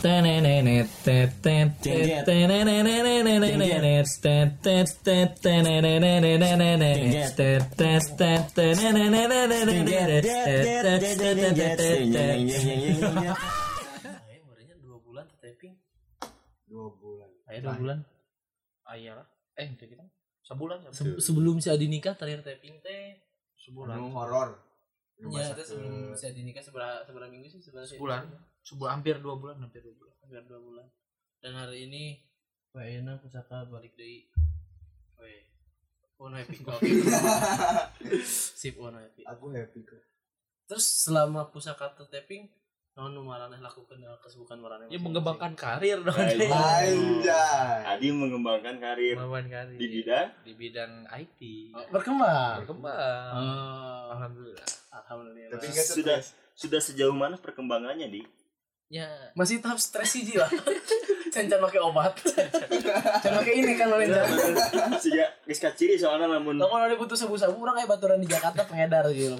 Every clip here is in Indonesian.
Barunya 2 bulan taping. 2 bulan. Ayo 2 bulan. Ayalah. Itu kita sebulan sebelum si Adi nikah terakhir taping teh sebulan. Horor. Iya, itu sebelum si Adi nikah seberapa minggu sih sebulan. Hampir 2 bulan. Hampir 2 bulan. Dan hari ini Pak Ena Pusaka balik deui. Weh. Ono happy kok. Sip ono happy. Aku happy kok. Terus selama Pusaka taping naon nu maraneh lakukeun kesibukan maraneh? Ya mengembangkan karir dong. Anjay. Adi mengembangkan karir di bidang IT. Berkembang. Alhamdulillah. Tapi sudah sejauh mana perkembangannya, Di? Ya, masih tahap stres sih lah. Can pakai obat. Can pakai ini kan oleh Sejak geus kaciri soalnya lamun ada butuh sabu-sabu urang aya baturan di Jakarta pengedar gitu.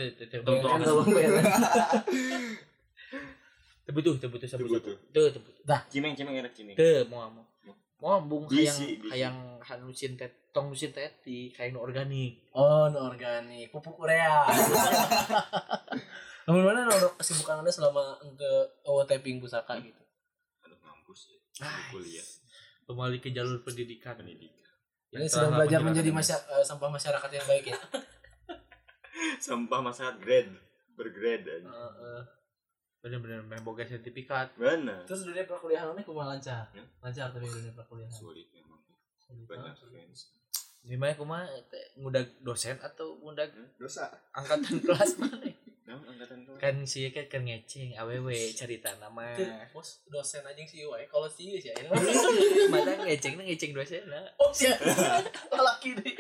Tebutuh sabu-sabu. Dah, cimeng enak cimeng. Teu moal bung hayang hanusin tong nusin teti kayak nu organik. Oh, nu organik. Pupuk urea. Namun mana kesibukan Anda selama taping Pusaka gitu? Aduh mampus ya. Kuliah. Kembali ke jalur pendidikan. Ini sedang belajar menjadi sampah masyarakat yang baik ya. Sampah masyarakat bergrade aja. Bener-bener memboga sertifikat. Bener. Terus dunia perkuliahannya kumaha lancar? Lancar tapi dunia perkuliahan. Sulit memang. Banyak fans. Gimana kumaha ngudag dosen atau ngudag dosa angkatan kelas mana? Angkatan kelas. Kan sih kan ngeceng awewe cerita nama. Bos dosen anjing sih wae kalau sih ya. Mata ngeceng dosen lah. Oh sia. Laki deh.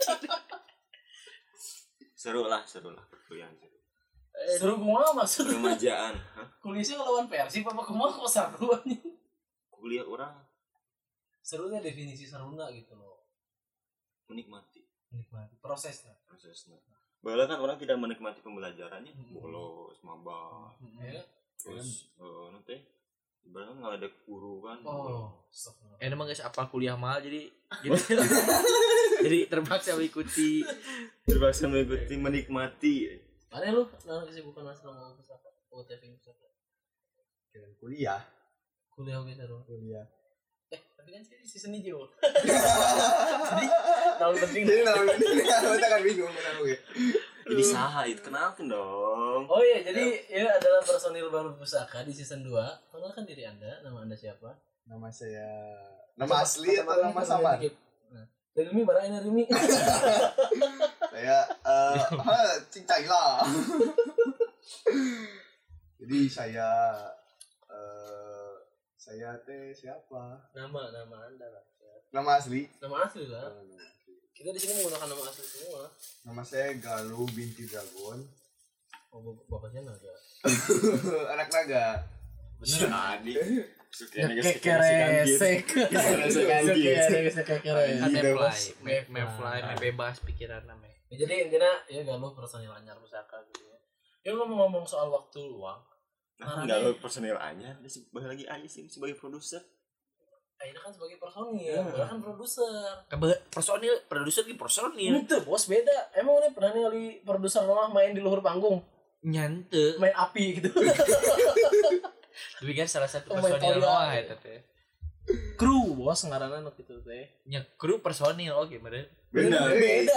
Seru lah perkuliahan seru. Seru kumaha maksud remajaan, kuliahnya ngelawan Persib apa kumaha kok seru anjing? Kuliah orang serunya definisi seruna gitu loh. Menikmati prosesnya. Bahkan kan orang tidak menikmati pembelajarannya, bolos, maba. Terus nanti ibaratnya nggak ada guru kan. Emang guys apa kuliah mahal jadi terpaksa mengikuti menikmati. Mana lu kesibukan selama Pusaka? Taping Pusaka. Kuliah oke seru. Kuliah. Tapi kan sih season hijau. Jadi tahun penting. Kita kan bingung kenapa gue. Ini saha itu kenalkan dong. Oh iya, jadi ya adalah personil baru Pusaka di season 2. Kenalkan diri Anda, nama Anda siapa? Nama saya nama asli atau nama samar? Rimi barangnya Rimi. Saya cincai lah. Jadi saya teh siapa? Nama Anda lah. Nama asli lah. Kita di sini menggunakan nama asli semua. Nama saya Galuh binti Dragon. Oh, bapaknya naga. Anak naga. Bener Adi. Mefly bebas pikiran namanya. Jadi intinya ya Galuh personil anyar Pusaka gitu ya. Ya ngomong soal waktu luang. Enggak lo personil anyar, dia sebagai lagi aja sih sebagai produser. Akhirnya kan sebagai personil, kan produser. Produser di personil. Itu bos beda. Emang ini pernah ningali produser rumah main di luhur panggung? Nyante. Main api gitu. Tapi kan salah satu personil mah eta teh. Kru bos ngaranna nu kitu teh. Nya kru personil oke bener. Beda.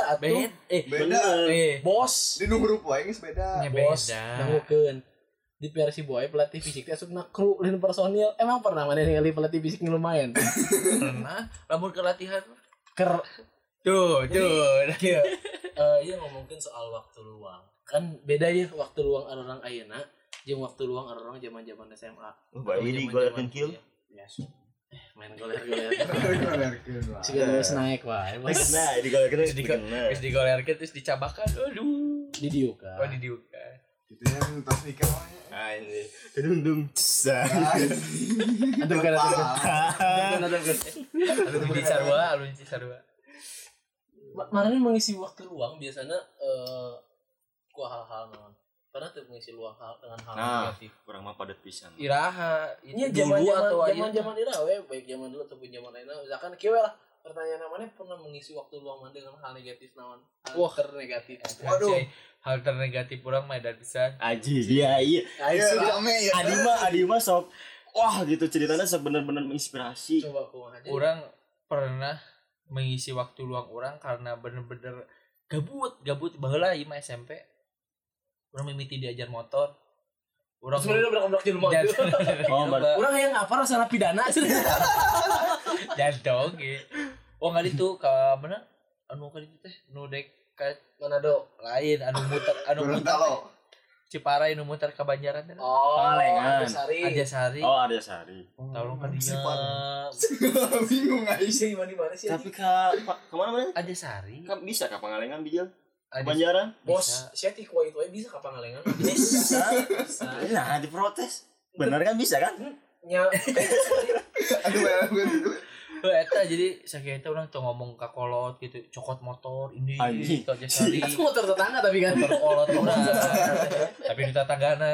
Bos. Di nu huruf wae geus beda. Nya bos. beda. Dangukeun. Di versi boy pelatih fisik teh asupna kru lain personil. Emang pernah mana ningali pelatih fisik nu lumayan? Pernah. Lamun ke latihan Tuh. Iya ngomongin soal waktu luang. Kan beda ya waktu luang orang ayeuna jeung waktu luang orang zaman-zaman SMA. Bae ini golerkeun kill. Ya. Main goler-goler. Siga terus naik wae. Nah, digolerkeun terus dicabakan. Aduh. Didiukan. Oh, didiukan. Itu yang tos nikah wae. Ini. Dung cesan. Aduh kan. Alun di Sarua. Makanya mengisi waktu luang biasanya ku hal-hal non karena tuh mengisi luang dengan hal negatif. Kurang mah padat pisan. Iraha Ini dulu atau zaman iraha we, baik zaman dulu ataupun zaman lainnya. Misalkan kieu lah pertanyaan namanya pernah mengisi waktu luang mana dengan hal negatif naon? Hal ternegatif. waduh hal ternegatif orang mah dan bisa Aji dia iya. Rame ya. Adi mah sok wah gitu ceritanya sok bener-bener menginspirasi. Coba kumaha aja. orang pernah mengisi waktu luang orang karena bener-bener gabut baheula ieu mah SMP orang mimiti diajar motor orang sebenarnya udah di rumah dan- itu. Orang yang apa rasa pidana jadong gitu oh nggak itu ke mana anu ka ditu teh nu dek ka Manado. lain anu muter Gorontalo. Ciparai nu muter ka Banjaran teh Oh, Pangalengan. Sari. Arjasari Oh Arya Sari. tolong ka dinya Sipan. Bingung aja. Isi di mana sih? Tapi kemana mana? Arjasari Kan bisa ka Pangalengan bijil. Arjas- Banjaran. Bos, Bisa. saya ti kuat itu bisa kapan ngalengan? Bisa. Nah diprotes. Bener kan bisa kan? Nya Aduh, gue. eta jadi sakitu urang tuh ngomong ka kolot gitu cokot motor ini Anjing. itu Arjasari itu motor tetangga tapi kan. motor kolot urang tapi di tetanggana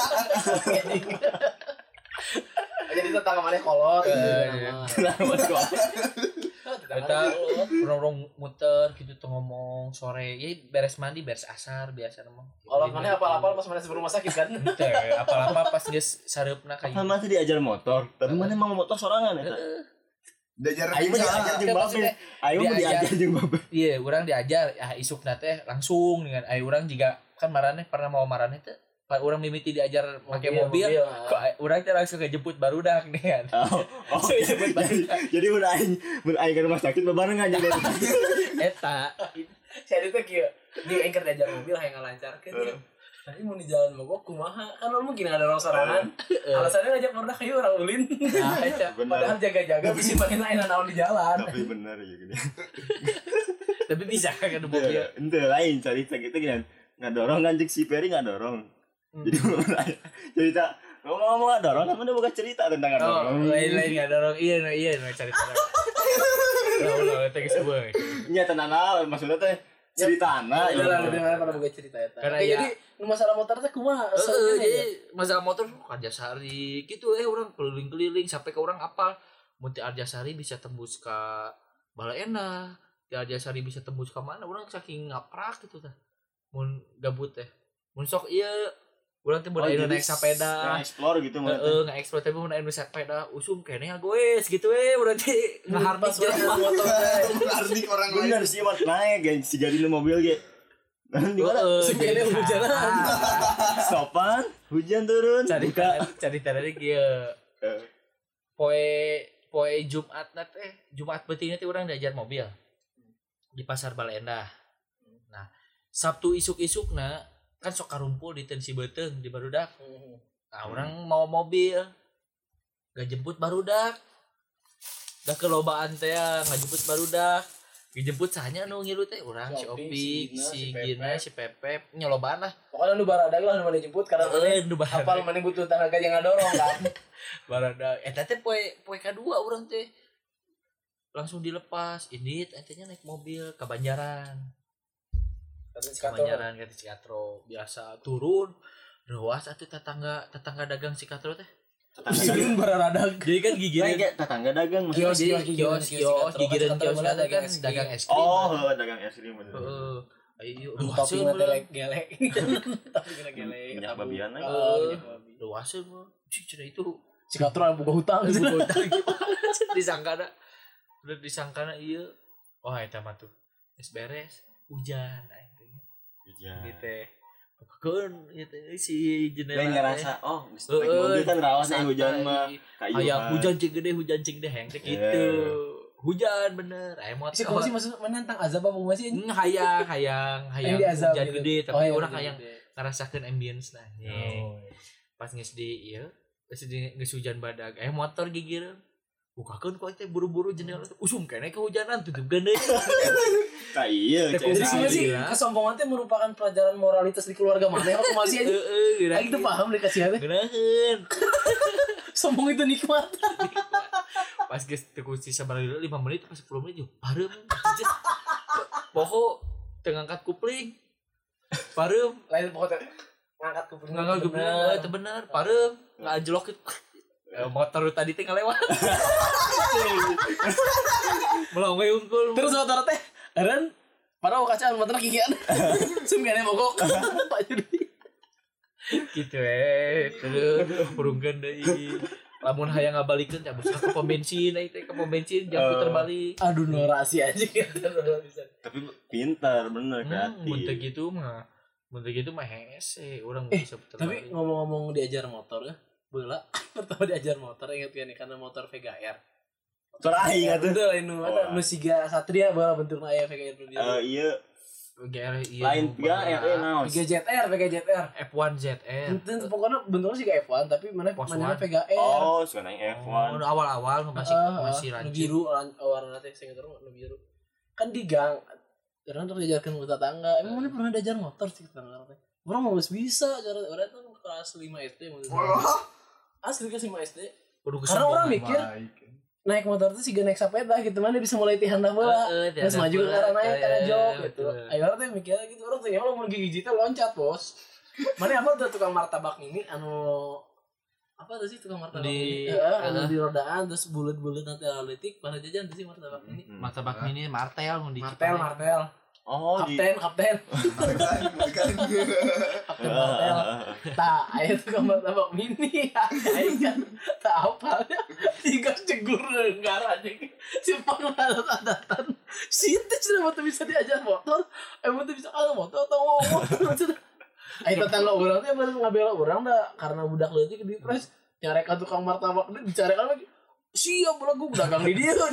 Jadi tetangga mana kolot. Iya. Kenapa kok? Eta orang muter gitu tuh ngomong sore ya beres mandi beres asar biasa mah Kolot mana apa-apa pas mana sebelum rumah sakit kan? teh apa-apa pas geus sareupna ka Apa mah tadi diajar motor? Tapi mana mau motor sorangan eta? Diajar Aing mah diajar jeung babe. Aing mah diajar jeung babe. iya urang diajar isukna teh langsung dengan urang juga kan marane pernah mau marane teh urang mimiti diajar make mobil kok urang teh langsung ngejemput barudak nih kan Oh, jadi mun aing ke rumah sakit bebarengan jadi. eta Saya itu kieu. Di engker diajar mobil hayang ngalancarkeun ya. Tadi mau di jalan mogok kumaha? Kan mungkin ada orang sorangan. Alasannya ngajak barudak kayu orang ulin. nah eta Padahal jaga-jaga bisa makin lain naon di jalan. Tapi bener ya gini. tapi bisa kan ada mobil Ente lain cerita gitu gini. Ngadorong kan si Peri ngadorong. Jadi mulai cerita ngomong ngadorong kan udah bukan cerita tentang oh ngadorong. lain nggak dorong iya cari tahu teh geus eueuh Nya tenan maksudnya teh ceritana Iya lah lebih mana pada boga cerita eta. Karena Oke, ya- jadi nu masalah motor teh kumaha? jadi masalah motor Arjasari gitu orang keliling-keliling sampai ke orang apal mun ti Arjasari bisa tembus ke Balaena ti Arjasari bisa tembus ke mana orang saking ngaprak gitu tah mun gabut teh mun sok ieu urang teh mun aya naik sepeda explore gitu mah. nge-explore tapi mun aya nu sepeda usum kene goes gitu urang teh ngahardik jalan motor teh. Ardik orang lain. Bener sih mat naik geng si jadi mobil ge. Di mana? Sekene hujanan. Sopan, hujan turun. cari tadi kieu poe Jumat teh Jumat beuting teh urang diajar mobil di pasar Baleendah. Nah, Sabtu isuk-isukna kan sok karumpul di Tensi Beuteng di barudak. Nah, orang mau mobil gak jemput barudak. Dah kelobaan teh ngajemput barudak. Dijemput sahanya nu ngilu teh urang si Opik, si Gina, si Pepep nyelobaan lah. Pokoknya lu baradag lah nu mana jemput karena Nu barudak. hafal mana butuh tenaga yang ngadorong kan. Barudak eta teh poe kadua urang teh langsung dilepas indit entenya naik mobil ke Banjaran. Kebanyaran ke Cikatro biasa turun ruas atuh tetangga dagang Cikatro teh Sieun baradag. jadi kan gigireun Kayak tetangga dagang maksudnya. kios gigireun kios dagang es krim Oh, dagang es krim bener. heeh ayo Tapi ruaseun nggak gelek. Tapi nggak gelek. Minyak babian lagi. ruaseun mah cik cenah itu Cikatro buka hutang. disangkana udah disangkana ieu oh eta mah tuh geus beres hujan Hujan. gitu keun gitu si jendela Lain ngerasa oh naik mobil kan rawas nih hujan mah kayu aya hujan cing gede heng teh gitu hujan bener aya motor Si kok sih maksud menantang azab apa masih? hayang Yang diazab hujan gitu. gede tapi Oh, iya, orang gede. hayang ngarasakeun ambience nah pas geus di ieu geus hujan badag aya motor gigir bukakeun kok teh buru-buru jendela usum kene kehujanan tutup geudeung Ka iya Teh Jadi Nah, sih gila. kesombongan itu merupakan pelajaran moralitas di keluarga mana aku masih aja. Aing tuh paham dikasih apa? geunaheun Sombong itu nikmat. pas geus teu kunci sabaraha 5 menit pas 10 menit yo parem poho teu ngangkat kupling parem Lain pokoknya ngangkat kuping Enggak bener parem ngajlok motor tadi teh ngalewat melang we unggul terus motor teh eren padahal kacaan motor kikian sum gane mogok Pak Judi gitu terus burungkeun deui lamun hayang ngabalikeun cabut ke pom bensin teh ke pom bensin jam puter balik aduh norasi aja Tapi pintar bener kreatif. mun teu gitu mah hese urang bisa puter tapi balik ngomong-ngomong diajar motor ya beula pertama diajar motor ingat kan karena motor Vega R Terakhir atuh. betul ini ada musiga Satria bawa bentukna aya Vega R Iya. GR Lain 3 naon? Vega ZR F1 ZR itu pokoknya bentuknya sih kayak F1 tapi mana Pos mana one. Vega R Oh, sekarang F1. udah awal-awal masih nu rancu biru warna teh sing terus nu biru kan di gang karena untuk diajarkan ke tetangga emang mana pernah diajar motor sih tetangga teh orang mau bisa cara orang tuh kelas 5 SD asli kelas 5 SD karena orang mikir naik motor tuh sih naik sepeda gitu mana bisa mulai tihan dah bola terus maju ke arah naik karena jog gitu ayo orang tuh mikirnya gitu orang tuh ya mau gigi teh loncat bos mana apa tuh tukang martabak ini anu apa tuh sih tukang martabak ini anu di rodaan terus bulat-bulat nanti analitik pada jajan tuh sih martabak ini martabak mini martel mun di martel Oh, kapten kapten martel tak ayo tukang martabak mini ayo kan tak apa tiga cegur negara aja simpang adat-adatan sintes sudah mau bisa diajar motor emang tuh bisa kalau motor atau ngomong ayo tetangga orang tuh baru ngabela orang dah karena budak leutik di press nyarekan tukang martabak dicarikan lagi siap lagu dagang di dia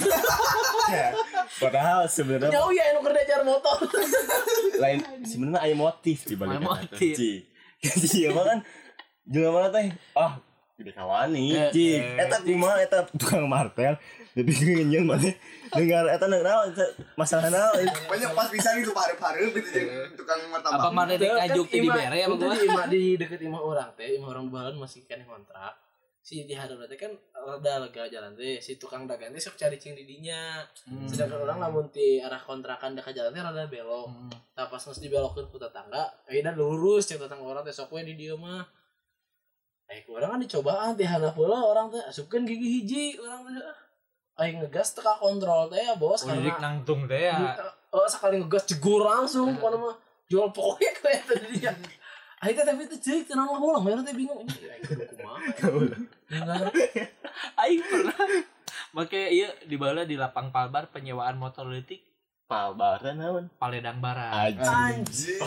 padahal sebenarnya jauh ya anu kerja ajar motor lain sebenarnya ada motif di balik motif. Iya kan juga mana teh gede kawani eta kumaha eta tukang martel tapi ngeunyeun mah dengar eta naon masalah naon banyak pas bisa gitu hareup-hareup gitu jeung tukang martabak. apa mana teh kajuk teh dibere ya Bang di deket imah orang teh imah orang balan masih kan kontrak si di hadap teh kan rada lega jalan teh si tukang dagang teh sok cari cing di dinya sedangkan orang lamun ti arah kontrakan dekat jalan teh rada belok tah pas geus dibelokkeun ku tetangga ayeuna lurus cek tetangga orang teh sok we di dieu mah urang kan dicobaan ti handap heula orang teh asupkeun gigi hiji orang teh aing ngegas teka kontrol teh ya bos karena udah nangtung teh ya sekali ngegas jegur langsung pokoknya mah jual pokoknya kayak tadi dia akhirnya tapi itu cek tenang lah ulang mereka bingung ini aing kudu kumaha aing pernah make ieu di bala di lapang Palbar penyewaan motor leutik Palbaran naon Paledang Barat Anjir.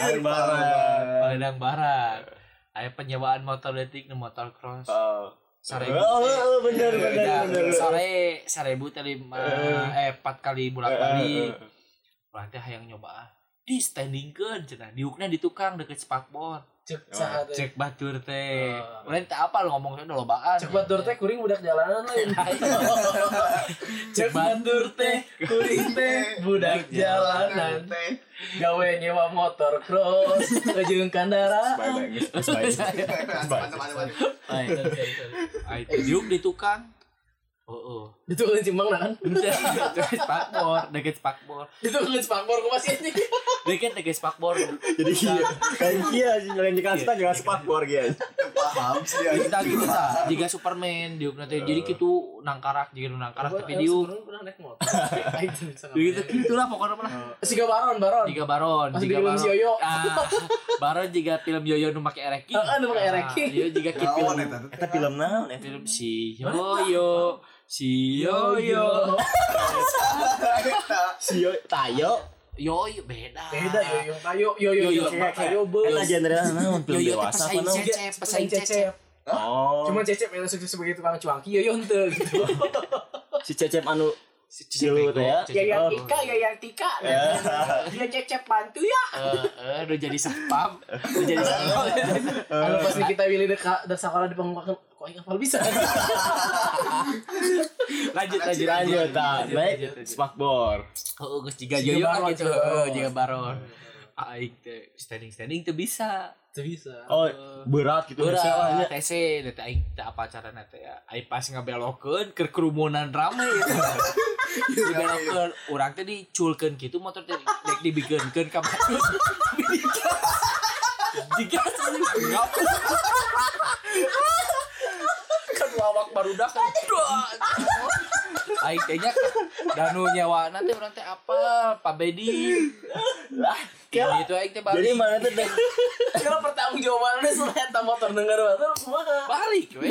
Paledang Barat aya penyewaan motor leutik nu motor cross Sarebu bener sore 1000 teh 4 kali bolak-balik urang teh hayang nyoba di standingkeun cenah diukna di tukang deket spakbor cek batur teh urang teh apa lu ngomongnya lobaan cek batur teh kuring budak jalanan lain cek batur teh kuring teh budak jalanan gawe nyewa motor cross jeung kendaraan ai teh diuk di tukang itu kan cimbang kan deket spakbor itu kan spakbor ku masih ini deket spakbor jadi kayak kia yang dikasih jangan spakbor gitu Paham sih ya. kita gitu ta jika Superman diuk nanti jadi kitu nangkarak jika nangkarak tapi diuk pernah naik motor gitu gitulah pokoknya mah siga baron jika baron masih di film si Yoyo baron jika film Yoyo nu make ereking nu make ereking ieu jiga kitu Naon eta film naon film si Yoyo si Yoyo tayo Yoyo beda Yoyo kayak eta genre naon film dewasa apa naon pesaing cecep cuma cecep yang sukses sebagai tukang cuangki Yoyo henteu gitu si Cecep anu Cilu teh ya. Yang Tika. Dia cecep bantu ya. Udah jadi satpam. Kalau pas kita pilih dekat sekolah di pengumuman kok hafal bisa. Lanjut. Baik, spakbor. Oh, geus jiga Yoyo gitu. Jiga baron. Aing teh standing teh bisa. Oh, berat gitu misalnya TC teh aing teh apa carana teh ya. Aing pas ngabelokeun keur kerumunan rame gitu. Dibelokeun urang teh diculkeun kitu motor teh dek dibikeunkeun ka batur. Jika ngapus. Kan lawak barudak kan. Aing teh nya danu nyawana teh urang teh apa? Pak Bedi. Lah, gitu aing teh balik. Jadi mana tuh deh? Kalau pertanggung jawabannya selain eta motor denger motor kumaha? Balik we.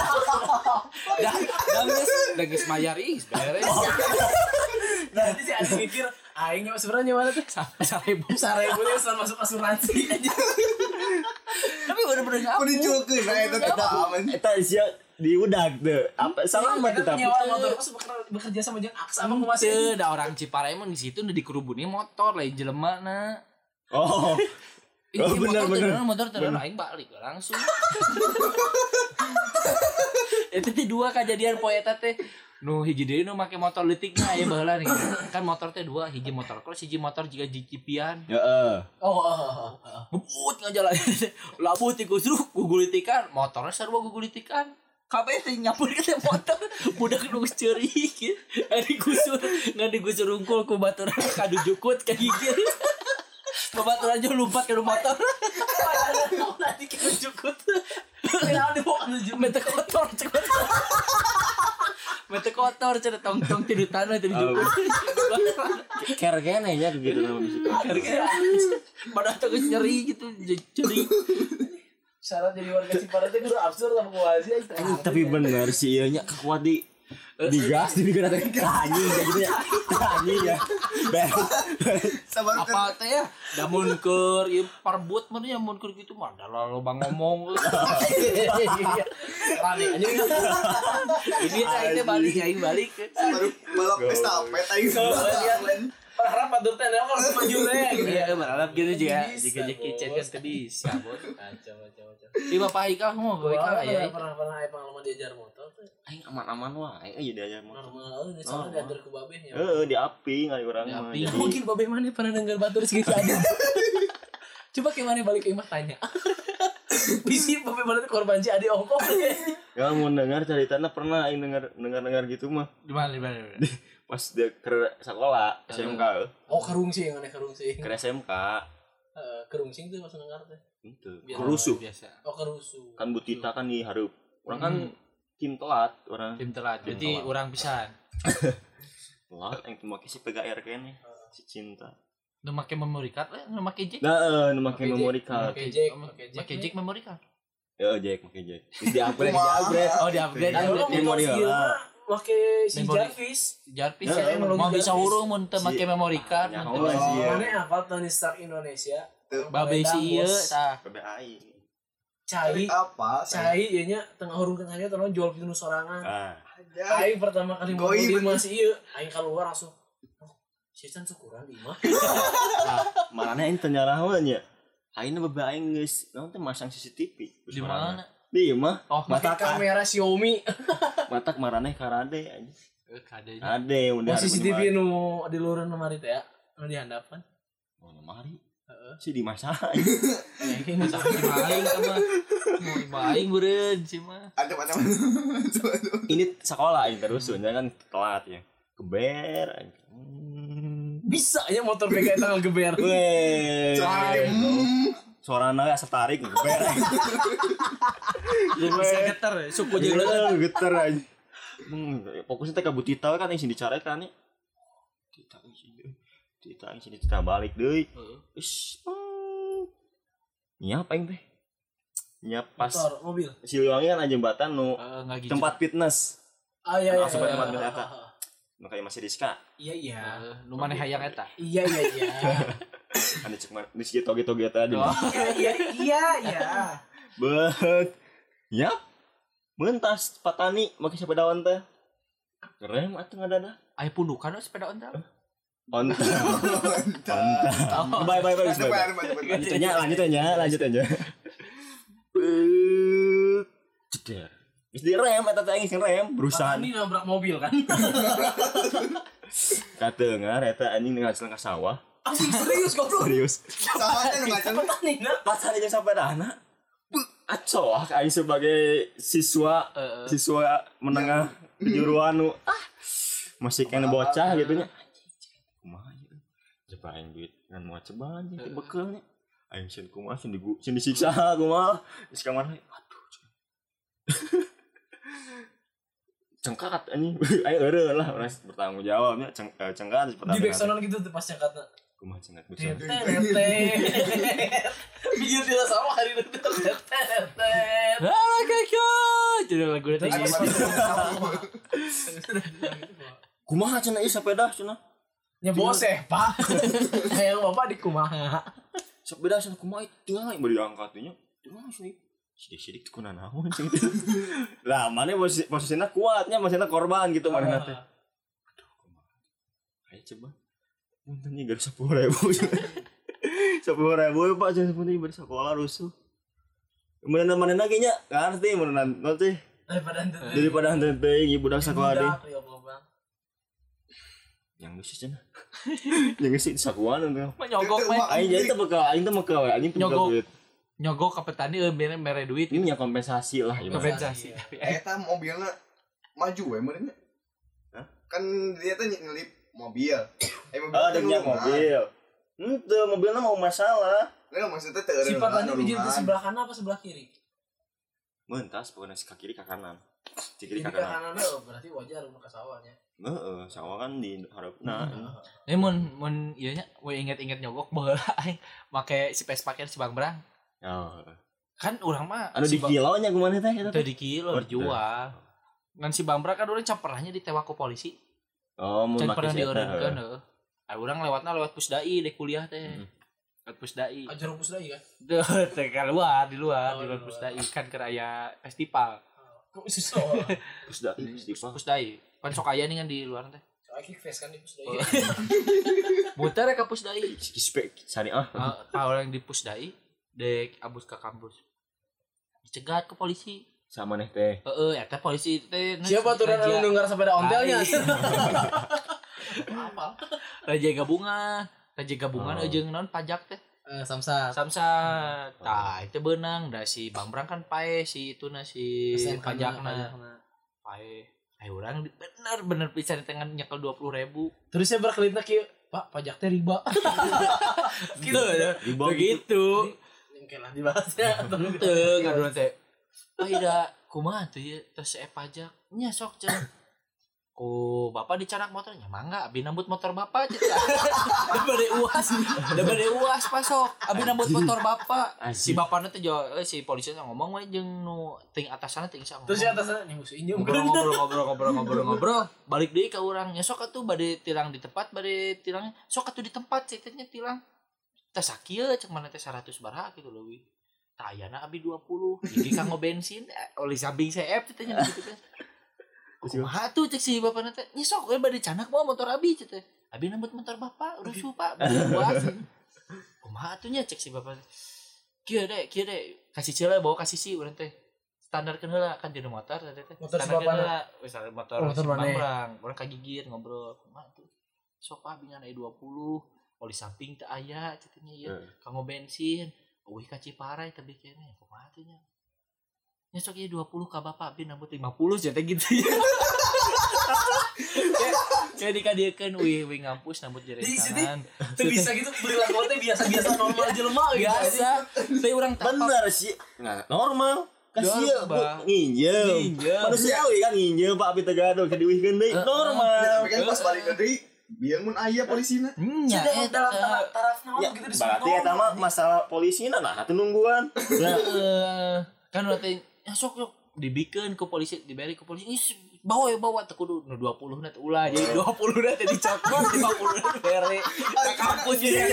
Dah geus mayar geus beres. Nanti sih ada mikir aing sebenarnya mana tuh? 1.000 nya setelah masuk asuransi aja. Tapi bener-bener Aku ngapus. dicukeun nah eta teh aman. Eta sia di udag tuh. Apa selamat tuh tapi. Penyewa motor bekerja sama jeung Aksa apa kumaha sih? Teu da orang Ciparai mah di situ udah dikerubuni motor lain jelemana. Oh. Ini bener. motor terus aing balik langsung. Itu teh dua kejadian poe eta teh. Nu hiji deui nu make motor leutikna aya baheula nih. Kan motor teh dua, hiji motor cross, hiji motor jiga jikipian. Heeh. Ngebut ngajalan. Labut ti kusruk gugulitikan, motornya sarua gugulitikan. Kabeh teh nyampur ke teh motor. Budak nu geus ceurik kieu. Ngan digusur unggul ku baturan kadu jukut ka gigir. Babaturan aja lompat ke motor. Nanti kita jukut. Kenapa dibawa ke jukut? Mete kotor cenah. Mete kotor cenah tong-tong tidur tanah tidur jukut. Ker-kene nya gitu nama bisikan. Padahal tuh geus nyeri gitu, ceurik. Syarat jadi warga Ciparai itu kudu absurd sama kumaha sih. Tapi bener sih ieu nya kuat di gas di bikin teh anjing gitu ya. Anjing ya. Sabar Apa teh ya? Da mun keur ieu parbut mah nya mun keur kitu mah da loba ngomong. Rame anjing. Ini aing balik. baru balap estafet aing. Berharap padur teh kalau maju deh. Iya, berharap gitu juga. Jika Jackie Chan kan teu bisa, Bos. Kacau. Di Bapak Ika mah, Bapak Ika aya. Pernah pengalaman diajar motor tuh. Aing aman-aman wae euy diajar motor. Normal ini soalnya diantar ke babehnya. Di api ngari urang mah. Di api. Jadi Mungkin babeh mana pernah dengar batur segitu ada. Coba kayak mana balik ke imah tanya. Bisi babeh mana tuh korban si adi ongkong. ya mau dengar ceritanya pernah aing dengar gitu mah. Di mana? Pas dia ke sekolah SMK. Oh kerungsing aneh kerungsing. Ke SMK. Kerungsing tuh masuk dengar teh. Itu. Kerusuh. Biasa. Oh kerusuh. Kan Butita kan dihareup. Orang kan tim telat orang. Tim telat. Jadi orang pisan. Telat yang make si PGR kene. Si Cinta. Nu make memory card we, nu make jack. Nah, nu make memory card. Make jack. Make jack memory card. Ya, Jack, make Jack. Di-upgrade. Oh, di-upgrade. Memori Make si Memory. Jarvis. Ya, mau bisa hurung mun teu make memory card. Oh, iya. Mana hafal Tony Stark Indonesia? Babe si ieu tah. PBAI. Cai. Apa? Cai ieu nya tengah hurung tengahnya teh jual pinu sorangan. Ah. Aing pertama kali mau Goi, di bener. masih ieu, aing keluar langsung. Sisan syukuran di mah. Marane ente nyarawan nya. Aina baba aing geus naon teh masang CCTV. Di mana? Di imah. Oh, Pakai kamera Xiaomi. Matak marane karade aja. Kadenya. Ade udah. Oh CCTV nu di luaran lemari teh ya. Nu di handapan. Oh, lemari. Si dimasak. Ini masa maling sama. Mau maling beureun sih mah. Ada macam. Ini sekolah ini terus kan telat ya. Keber. Bisa ya motor PK tanggal geber. Weh. Suarana asa tarik geber. Bisa geter, suku jeung Geter aja. Fokusnya teh ka Butita kan yang sini dicarekan nih. Kita sini kita balik deui. Wis. Nya apa teh? Nya pas Motor, mobil. Siliwangi kan jembatan nu enggak gitu. tempat fitness. Ah iya. Langsung ke tempat fitness eta. Nu kayak masih Rizka. Iya. Nu maneh hayang eta. Iya. Anu cek mah di situ toge-toge tadi. Iya. Bet. Yap. Mentas patani make sepedawan teh. Keren atuh ngadada. Aya pundukan sepeda ontel. Onta. Bye. Lanjut aja. Ceder. Wis direm eta teh geus ngerem berusaha. Ini nabrak mobil kan. Kateungar eta anjing ngahasilkeun ka sawah. Anjing serius goblok. Serius. Sawahnya nu ngacan. Petani nah. Pas hari jeung sapedana. Acoh aing sebagai siswa menengah kejuruan nu masih kena bocah gitu nya. Kumaha ieu? Coba aing duit ngan moal cobaan jeung bekelnya. aing sieun kumaha sieun disiksa kumaha geus ka mana aduh cengkat anjing ayo eureun lah urang bertanggung jawabnya cengkat di backsound gitu tuh pas cengkatna kumaha cengkat backsound bikin dia sama hari itu jadi lagu itu kumaha cenah ieu sepeda cenah nya boseh pak hayang bapak di kumaha sepeda cenah kumaha tinggal bari diangkat nya tinggal sih sidik-sidik tuh kuna naon cing lah mana posisinya kuatnya maksudnya korban gitu mana teh aduh kumaha ayo coba puntennya gara 10.000 10.000 Pak jangan punten bari sekolah rusuh kemudian mana lagi nya ngerti mana nanti daripada henteu teh budak sekolah deui yang geus cenah yang geus sakuan tuh nyogok mah aing jadi teh bekal aing teh bekal anjing nyogok nyogok ka petani mere duit ini nya kompensasi lah kompensasi eta mobilnya maju we meureun nya kan dia teh ngelip mobil ada mobil henteu mobilna mau masalah nah maksudnya teu si petani di sebelah kanan apa sebelah kiri mentas pokoknya si kiri ke kanan si kiri ke kanan berarti wajar ke sawahnya sawah kan di harapna mun ieu nya we inget-inget nyogok baheula aing make si pakai si Bang Brang kan urang mah anu di kilo nya kumaha teh eta teh di kilo dijual ngan si Bang Brang kan urang caperahnya ditewak ku polisi mun pernah dieureunkeun urang lewatna lewat Pusdai dek kuliah teh lewat Pusdai ajar Pusdai kan teh keluar di luar Pusdai kan ke aya festival kok susah Pusdai kan sok aya nih kan di luar teh kick face kan di Pusdai muter ka Pusdai spek sari orang di Pusdai dek abus ke kampus dicegat ke polisi sama neh teh eta polisi teh siapa tuh anu dengar sepeda ontelnya apa raja gabungan jeung naon pajak teh samsat tah itu beunang da si Bang Brang kan pae si ituna si pajakna pae urang bener pisan tengah nyekel 20.000 terus saya berkelitna kieu Pak pajak teh riba gitu ya begitu lah dibahasnya teu ngaduan teh ida kumaha tuh ya terus pajak nya sok cenah ku bapak dicanak motornya mangga abi nambut motor bapak cenah da bade uas pasok abi nambut motor bapak si bapana teh si polisi ngomong we jeung nu ting atasana ting ngomong terus si atasana nih musuh injem ngobrol balik deui ka urang nya sok atuh bade tilang di tempat bade tilang sok atuh di tempat ceritanya tilang teh sakieu cek mana teh 100 baraha gitu leuwih tah ayana abi 20 jadi kanggo bensin oli samping CF teh nya gitu kan kumaha tuh cek si bapana teh nya sok we bade canak bawa motor abi teh abi nambut motor bapak rusuh pak buas kumaha tuh nya cek si bapak kieu deh kasih ceula bawa kasih si urang teh standarkeun heula kan di motor teh motor si bapana wis motor si Bang urang kagigir ngobrol kumaha tuh sok abi ngan 20 oli samping teh aya cenah ieu kanggo bensin eueuh ka Ciparai teh bikinnya kumaha teh nya nya sok ieu 20 ka bapak abi nambut 50 cenah gitu ya kayak dikadiekeun wih ngampus nambut jerekan teu bisa gitu perilaku teh biasa-biasa normal jelema biasa teh urang bener sih normal kasih nginjem manusiawi kan nginjem Pak abi teh gaduh kadiwihkeun deui normal tapi kan pas balik deui biar mun aya polisina nya dalam taraf naon gitu disebut berarti eta mah masalah polisina nah atuh nungguan kan berarti sok dibikeun ku polisi diberi ku polisi bawa teh kudu 20 na teh ulah jadi 20 na teh dicokot 50 na teh bere ka kampus jadi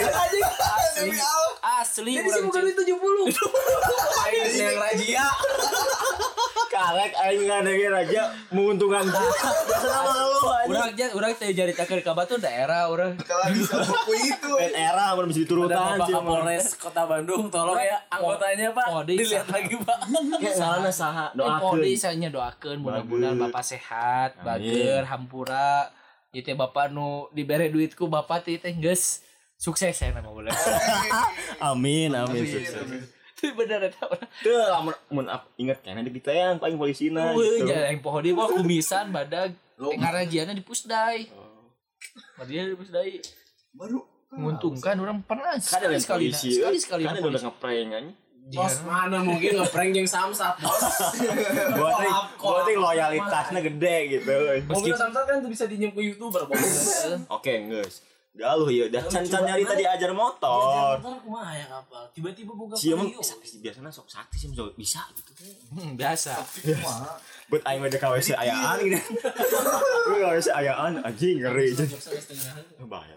asli jadi sih bukan 70 aing yang razia karek aing ngadenge raja menguntungkan urang teh jaritakeun ka Batu daerah urang kalau bisa buku itu era mun bisa diturutan sih Polres Kota Bandung tolong ya anggotanya Pak dilihat lagi Pak salahna saha doakeun sanya doakeun mudah-mudahan Bapak sehat bager hampura ieu teh Bapak nu dibere duitku Bapak teh geus sukses ya nama bulan amin sukses itu bener eta teu lamun inget kana di Bitayang paling polisina gitu yang poho di mah kumisan badag ngarajiana di Pusdai dia di Pusdai baru menguntungkan orang pernah Kan ada sekali sekali kan udah ngeprank anjing. Bos mana mungkin ngeprank jeung Samsat bos. Berarti loyalitasnya gede gitu. Mobil Samsat kan tuh bisa dinjem ke YouTuber bos. Oke, geus. Galuh ya, dah can nyari tadi ajar motor. Ajar motor kumaha ya kapal. Tiba-tiba boga Sia mah video. biasanya sok sakti sih bisa gitu. biasa. Buat aing mah KWC ayaan gitu. KWC ayaan anjing ngeri. Bahaya.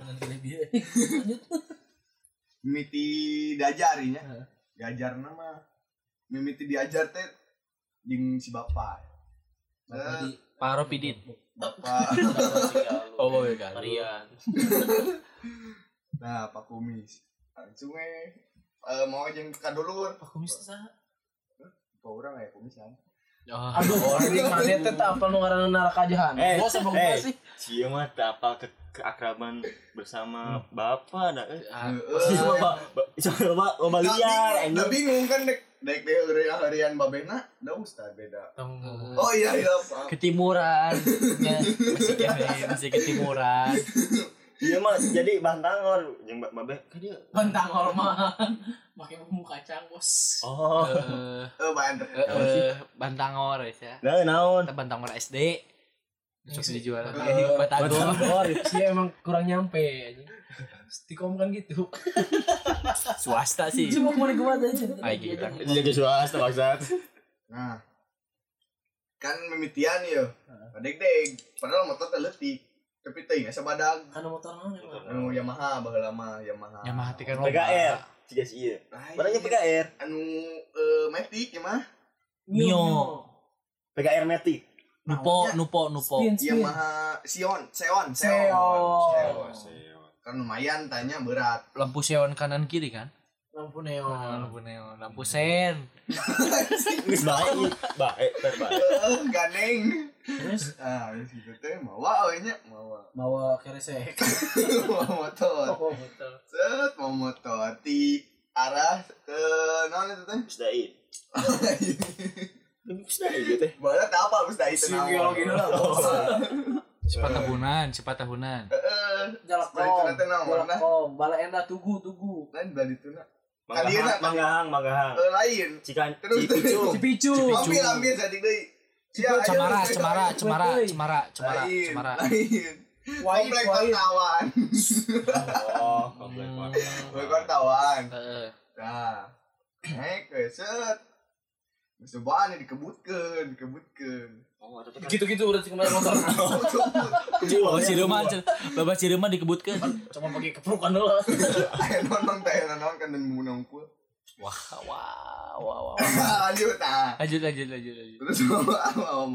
Mimiti diajarinya. Diajar nama. Mimiti diajar teh jeung si bapak. Paro pidit. Bapak. Oh iya kan. Marian. Nah, Pak Kumis. Langsung mau jeung ka dulur. Pak Kumis teh saha? Pak urang aya kumisan. Aduh, ini mana teh teh apal nu ngaranna neraka jahanam. Bos sabung sih. Sia mah teu apal keakraban bersama bapak da. Coba loba liar Udah bingung kan dek harian babena da ustad beda. Oh iya Pak. Ketimuran. Ya, masih ketimuran. Iya mah jadi bantangor jeung babe ka dieu. Bantangor mah make bumbu kacang bos. Oh. Banter. Bantangor ya. Nah, naon? Bantangor SD. Besok dijual lagi di Batagor. Sih emang kurang nyampe anjing. Stikom kan gitu. Swasta sih. Cuma mau dikuat aja. Ay gitu. Jadi swasta maksud. Nah. Kan mimitian ya. Deg-deg. Padahal motor teh leutik. Tapi teh asa badag. Kan motor naon emang? Anu Yamaha baheula mah Yamaha. Yamaha teh kan PKR. Cigas ieu. Barangnya PKR. Anu Matic ya mah. Mio. PKR Matic. Nupo. Yamaha Seon. Kan lumayan tanya berat. Lampu seon kanan kiri kan? Lampu neon. Lampu sen. Geus bae. Ganeng. Terus situ teh mawa we nya, Bawa keresek. Mawa motor. Oh, betul. Set mau motor di arah ke naon itu teh? Pusdai. Pusdai gitu teh. Barat apa Pusdai teh naon? Geologi heula bos. Cepat tahunan. Jalakkom. Jalakkom. Bala enda tugu. Lain bali tuna. Manggahang. Lain. Cipicu. Ambil jadi deui. Cemara. Lain. Komplek wartawan. Oh, komplek wartawan. Nah. Naik set. Sebaan dikebutkeun. Oh, ada Gitu-gitu udah kemarin motor. Bapak Cireman dikebutkeun. Cuma pakai keprukan heula. Aya nonton kan dan munongkul. Wah. Lanjut. Lanjut. Terus mau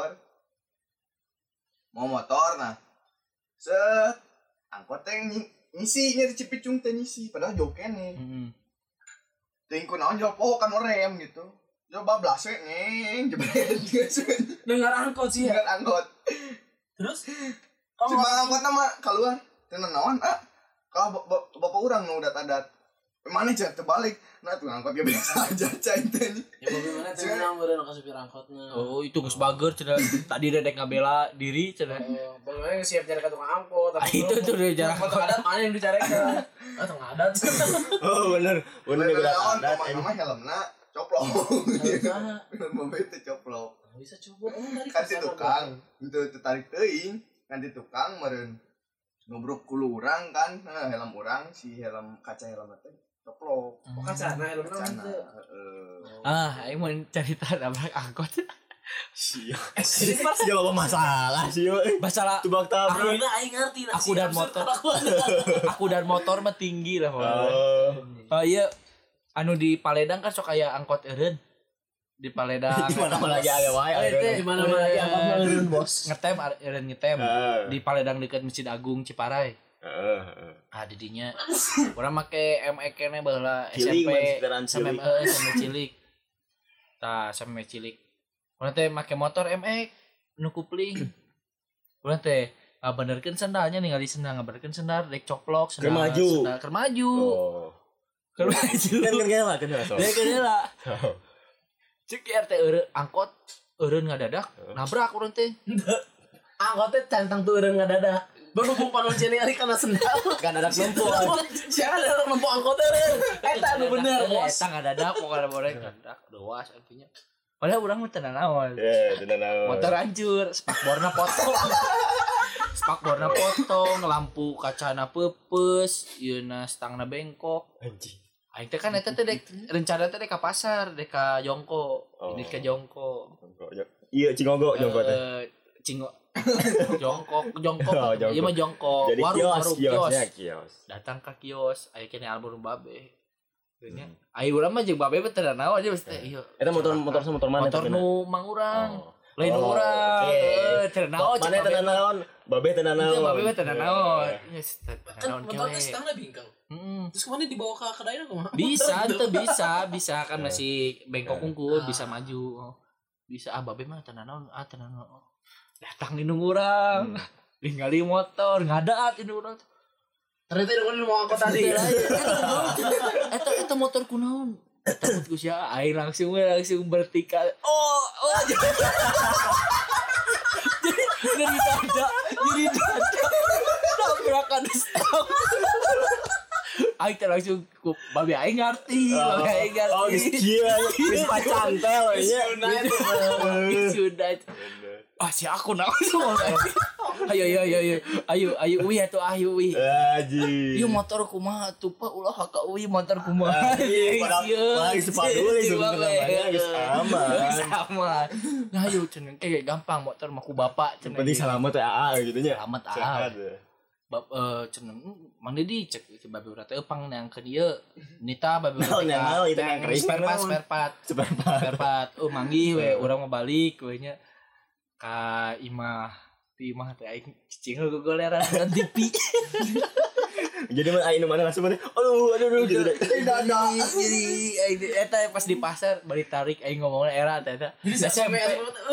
motor nah. Set angkot teh ngisinya di Cipicung teh ngisi padahal jauh kene. Teuing kunaon jauh kan rem gitu. Coba blas we jebret Dengar angkot sih ya. dengan angkot. Terus Cuma angkot nama keluar. Teu naon kalau bapak urang nu udat-adat. Mana cenah terbalik. Nah tuh angkot ge biasa aja cai teh. ya bagaimana cenah meureun ka supir angkotna. Oh, itu geus bager cenah. Tadi dedek ngabela diri cenah. Bagaimana siap cari ka tukang angkot. Itu tuh udah jarak angkot adat mana yang dicarekan. Tukang adat. Oh, bener Naon adat. nama helmna coplok. Mobil teh coplok. Bisa coba dari Kan si tukang itu tertarik teuing kan di tukang meureun ngobrol ku urang kan helm urang si helm kaca helm teh coplok. Kacana helmna Heeh. Aing mau cerita nabrak angkot. Sia bawa masalah sih. Masalah Tubak tabrak. akhirnya aing ngerti aku dan motor mah tinggi lah pokoknya. Oh iya anu di Paledang kan sok aya angkot eureun. Di Paledang. Di mana lagi aya wae. di mana lagi angkot eureun bos. Ngetem di Paledang dekat Masjid Agung Ciparai. Di dinya urang make ME kene baheula SMP sampai cilik. Sampai cilik. Urang teh make motor ME nu kupling. Urang teh ngabenerkeun sendalnya ningali sendal ngabenerkeun sendal rek coplok sendal keur maju. Kan lah. Cek RT angkot eureun ngadadak nabrak urang teh. Angkot teh cantang tuh eureun ngadadak. Berhubung panon ceni ari kana sendal. Kan ada numpuk. Jangan ada numpuk angkotnya. Eta nu bener, bos. Eta ngadadak pokoknya boleh ngadadak doas artinya. Padahal urang mah teu naon. Teu naon. Motor hancur, spakborna potong. Spakborna potong, lampu kacana peupeus, yeuna stangna bengkok. Anjing. Aing teh kan eta teh dek rencana teh dek ka pasar, dek ka Jongko. Ini ke Jongko. Iya, Cingogo Jongko teh. Jongkok. Oh, Jongkok. Iya mah Jongkok. Jadi kios. Datang ke kios, aya kene almarhum babe. Nya, aya urang mah jeung babe teh da naon aja mesti ieu. Eta motor mana? Motor nu mang urang. Lain urang. Teh naon mana teh naon? Babe teh naon. Babe teh naon. Kan motor teh stangna bingkang. Terus kemana dibawa ke kedai kumaha? Bisa kan masih bengkok unggul bisa maju. Bisa babe mah teh naon? Teh naon. Datang indung urang. Ningali motor ngadaat indung urang. Ternyata indung mau angkot tadi. Eta motor kunaon? Takut ku sia aing langsung bertikal. Jadi dada. Tabrakan stop. Aing teh langsung ku babe aing ngarti. Oh, geus pacantel nya. Sudah. Si aku langsung. Ayo wi atuh ayo wi. Ieu motor kumaha tuh Pak ulah ka wi motor kumaha. Padahal sepaduli sebenarnya geus aman. Nah ayo cenah gampang motor mah ku bapak cenah. Penting selamat teh AA gitu nya. Selamat AA. Cenah mangde dicek si babe urang teh eupang neangkeun ieu. Nita babe urang teh spare part. Manggih we urang mah balik we nya. Ka imah teh aing cicing gogoleran dan TV. Jadi mah aing mana langsung mah aduh gitu deh. Jadi eta pas di pasar balik tarik aing ngomongna era eta. Jadi SMP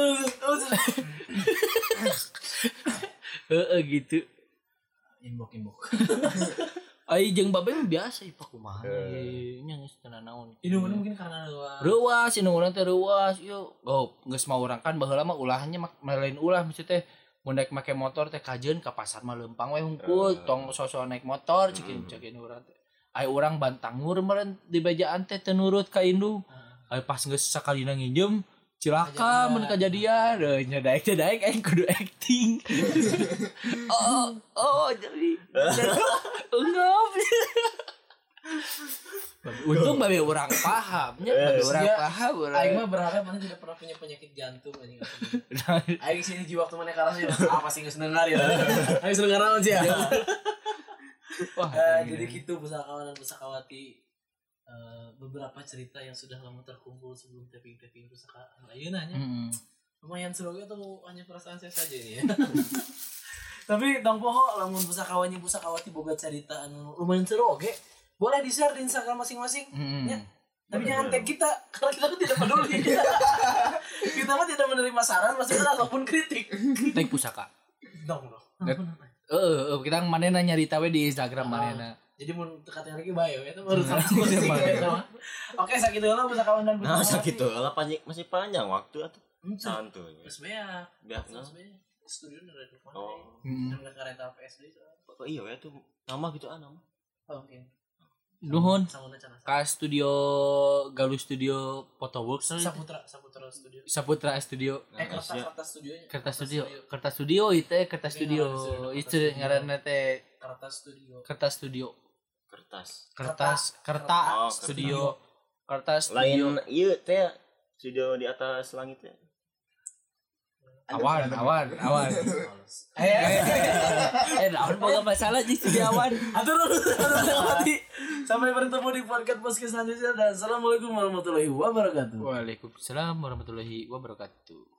gitu. Imbok. Ai jeung babe mah biasa ieu kumaha nya geus teu naon. Indung mungkin karena reuas indung urang teh reuas ieu. Geus mah urang kan baheula mah ulahnya lain ulah mesti teh mun naik make motor teh kajeun ka pasar mah leumpang we hungkul tong sosok naik motor cekin urang teh. Ai urang bantangur meureun di bejaan teh teu nurut ka indung. Ai pas geus sakalina nginjem cilaka mun kajadian nya daek aing kudu acting. Jadi enggak. Untung babe urang pahamnya, babe urang paham. Aing mah berharap mana tidak pernah punya penyakit jantung anjing. Aing sini jiwa waktu mana karasnya pasti geus neungar ya. Aing geus neungar naon sih ya. Jadi gitu pusakawan dan pusakawati beberapa cerita yang sudah lama terkumpul sebelum tapping pusakaan ayeuna nya. Lumayan seru tuh hanya perasaan saya saja nih ya. Tapi tong poho lamun pusakawati boga cerita anu lumayan seru oge. Boleh di-share di Instagram masing-masing ya. Tapi jangan tag kita karena kita tuh tidak peduli. Kita mah tidak menerima saran masukan ataupun kritik. Tag pusaka. Dong. Kita manehna nyarita we di Instagram manehna. Jadi mun tekatnya lagi bae eta baru Oke, sakitu heula pusakawan dan pusakawan. Sakitu heula masih panjang waktu atuh. Santuy. Geus beak. Studio udah di mana? Dan kareta PSD. Oh iya we tuh nama gitu nama. Oke. Nuhun ka studio Galuh Studio Photoworks Saputra Studio Kertas Studio itu ngaranna teh Kertas Studio lain ieu teh studio di atas langit teh awan. Naon boga masalah di studio awan. Atur sampai bertemu di podcast selanjutnya dan assalamualaikum warahmatullahi wabarakatuh. Waalaikumsalam warahmatullahi wabarakatuh.